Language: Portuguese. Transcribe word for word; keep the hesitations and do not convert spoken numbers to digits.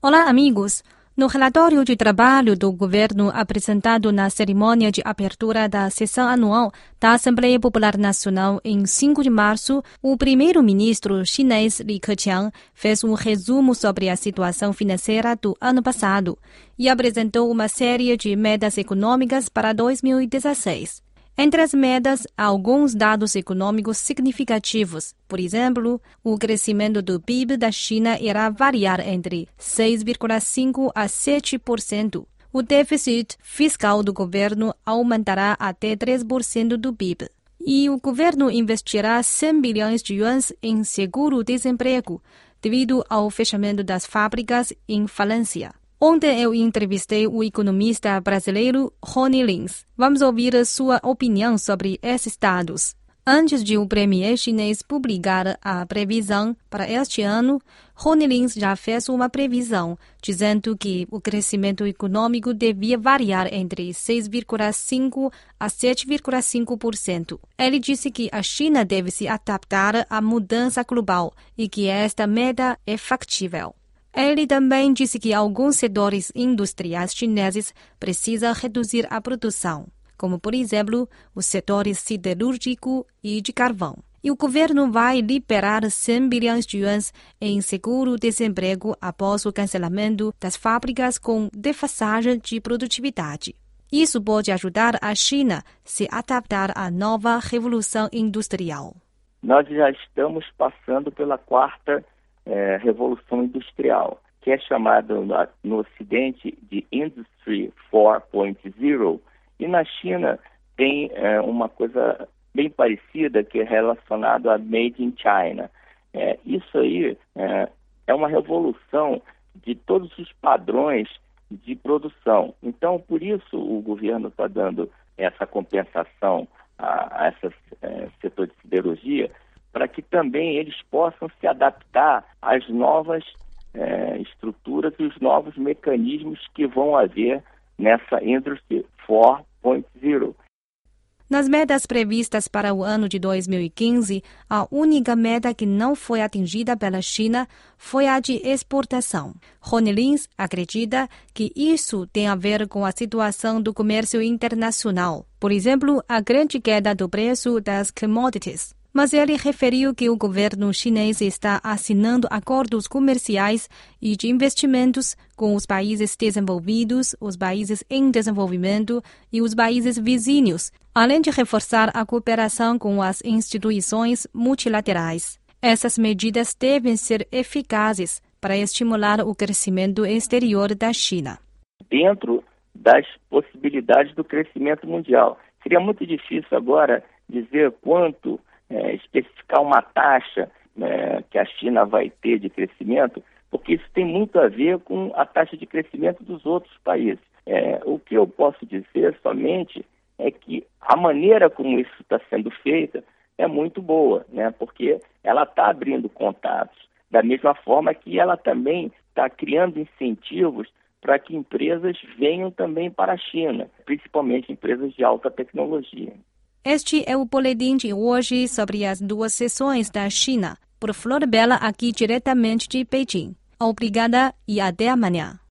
Olá, amigos! No relatório de trabalho do governo apresentado na cerimônia de abertura da sessão anual da Assembleia Popular Nacional em cinco de março, o primeiro-ministro chinês Li Keqiang fez um resumo sobre a situação financeira do ano passado e apresentou uma série de metas econômicas para dois mil e dezesseis. Entre as metas, há alguns dados econômicos significativos. Por exemplo, o crescimento do P I B da China irá variar entre seis vírgula cinco por cento a sete por cento. O déficit fiscal do governo aumentará até três por cento do P I B. E o governo investirá cem bilhões de yuans em seguro-desemprego, devido ao fechamento das fábricas em falência. Ontem eu entrevistei o economista brasileiro Rony Lins. Vamos ouvir sua opinião sobre esses dados. Antes de o premier chinês publicar a previsão para este ano, Rony Lins já fez uma previsão, dizendo que o crescimento econômico devia variar entre seis vírgula cinco por cento a sete vírgula cinco por cento. Ele disse que a China deve se adaptar à mudança global e que esta meta é factível. Ele também disse que alguns setores industriais chineses precisam reduzir a produção, como, por exemplo, os setores siderúrgico e de carvão. E o governo vai liberar cem bilhões de yuans em seguro-desemprego após o cancelamento das fábricas com defasagem de produtividade. Isso pode ajudar a China a se adaptar à nova revolução industrial. Nós já estamos passando pela quarta É, Revolução Industrial, que é chamada no, no Ocidente de Industry quatro ponto zero, e na China tem é, uma coisa bem parecida que é relacionada a Made in China. É, isso aí é, é uma revolução de todos os padrões de produção. Então, por isso o governo está dando essa compensação a, a esse é, setor de siderurgia, para que também eles possam se adaptar às novas eh, estruturas e os novos mecanismos que vão haver nessa Industry quatro ponto zero. Nas metas previstas para o ano de dois mil e quinze, a única meta que não foi atingida pela China foi a de exportação. Rony Lins acredita que isso tem a ver com a situação do comércio internacional. Por exemplo, a grande queda do preço das commodities. Mas ele referiu que o governo chinês está assinando acordos comerciais e de investimentos com os países desenvolvidos, os países em desenvolvimento e os países vizinhos, além de reforçar a cooperação com as instituições multilaterais. Essas medidas devem ser eficazes para estimular o crescimento exterior da China. Dentro das possibilidades do crescimento mundial. Seria muito difícil agora dizer quanto É, especificar uma taxa é, que a China vai ter de crescimento, porque isso tem muito a ver com a taxa de crescimento dos outros países. É, o que eu posso dizer somente é que a maneira como isso está sendo feita é muito boa, né? Porque ela está abrindo contatos, da mesma forma que ela também está criando incentivos para que empresas venham também para a China, principalmente empresas de alta tecnologia. Este é o boletim de hoje sobre as duas sessões da China. Por Flor Bela, aqui diretamente de Beijing. Obrigada e até amanhã.